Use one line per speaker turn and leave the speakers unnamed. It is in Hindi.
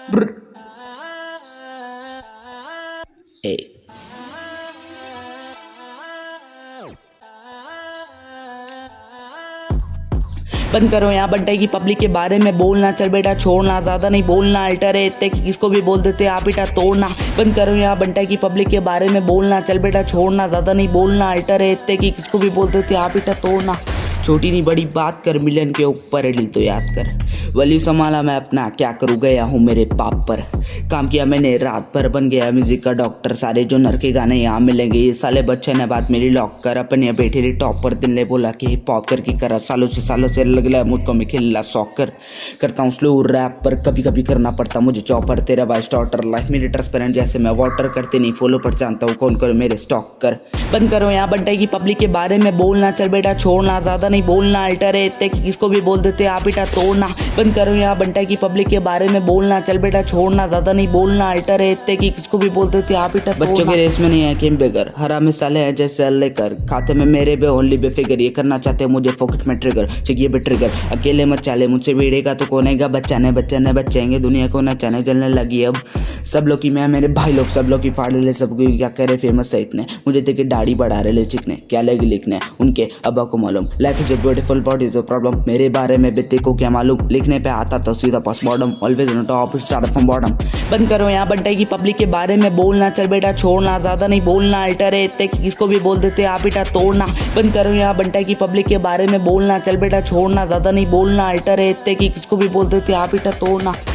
ब्र। ए बंद करो यहाँ बंटे की पब्लिक के बारे में बोलना, चल बेटा छोड़ना, ज्यादा नहीं बोलना, अल्टर है इतने कि किसको भी बोल देते आप बेटा तोड़ना। बंद करो यहाँ बंटे की पब्लिक के बारे में बोलना, चल बेटा छोड़ना, ज्यादा नहीं बोलना, अल्टर है इतने कि किसको भी बोल देते आप बेटा तोड़ना। छोटी नहीं बड़ी बात कर, मिलियन के ऊपर है दिल तो याद कर। वली संभाला मैं अपना, क्या करूँ गया हूँ मेरे पाप पर। काम किया मैंने रात भर, बन गया म्यूजिक का डॉक्टर। सारे जो नर के गाने यहाँ मिलेंगे, ये साले बच्चे ने बात मेरी लॉक कर। अपन यहाँ बैठे रही टॉप पर, दिन ले बोला कि हिप हॉप करके करा। सालों से लग रहा है मुझको मैं खेलना सॉकर। करता हूँ स्लो रैप पर, कभी कभी करना पड़ता मुझे चॉपर। तेरा भाई स्टार्टर, लाइफ मेरी ट्रांसपेरेंट जैसे मैं वाटर। करते नहीं फॉलो पर जानता हूँ कौन करो मेरे स्टॉक कर। बंद करो यहाँ बंटे की पब्लिक के बारे में बोलना, चल बेटा छोड़ना, ज्यादा नहीं बोलना, अल्टर है इतने कि किसको भी बोल देते आप बेटा तोड़ना। बंद करो यहाँ बंटे की पब्लिक के बारे में बोलना, चल बेटा छोड़ना, ज्यादा नहीं बोलना, अल्टर है इतने कि किसको भी बोल देते आप बेटा। बच्चों के रेस में नहीं है गेम बेगर, हरा मिसाले हैं जैसे अल्ले कर। खाते में मेरे बे ओनली बेफिगर, ये करना चाहते हैं मुझे फोकट में ट्रिगर। चाहिए बे ट्रिगर, अकेले मत चाले, मुझसे भिड़ेगा तो कोनेगा। बच्चा ने बच्चेंगे, दुनिया को नचाने चलने लगी अब। सब लोग की मैं, मेरे भाई लोग सब लोग की फाड़ ले, सबको क्या करे फेमस है इतने। मुझे देखे दाढ़ी बढ़ा रहे ले चिकने, क्या लगे लिखने उनके अब्बा को मालूम। Life is a beautiful but is a problem, मेरे बारे में बेटे को क्या मालूम। लिखने पे आता तो सीधा पास bottom, always on top start from bottom. बंद करो यहाँ बंटे की पब्लिक के बारे में बोलना, चल बेटा छोड़ना, ज्यादा नहीं बोलना, अल्टर है इतने कि किसको भी बोल देते आप बेटा तोड़ना। बंद करो यहाँ बंटे की पब्लिक के बारे में बोलना, चल बेटा छोड़ना, ज्यादा नहीं बोलना, अल्टर है इतने कि किसको भी बोल देते आप बेटा तोड़ना।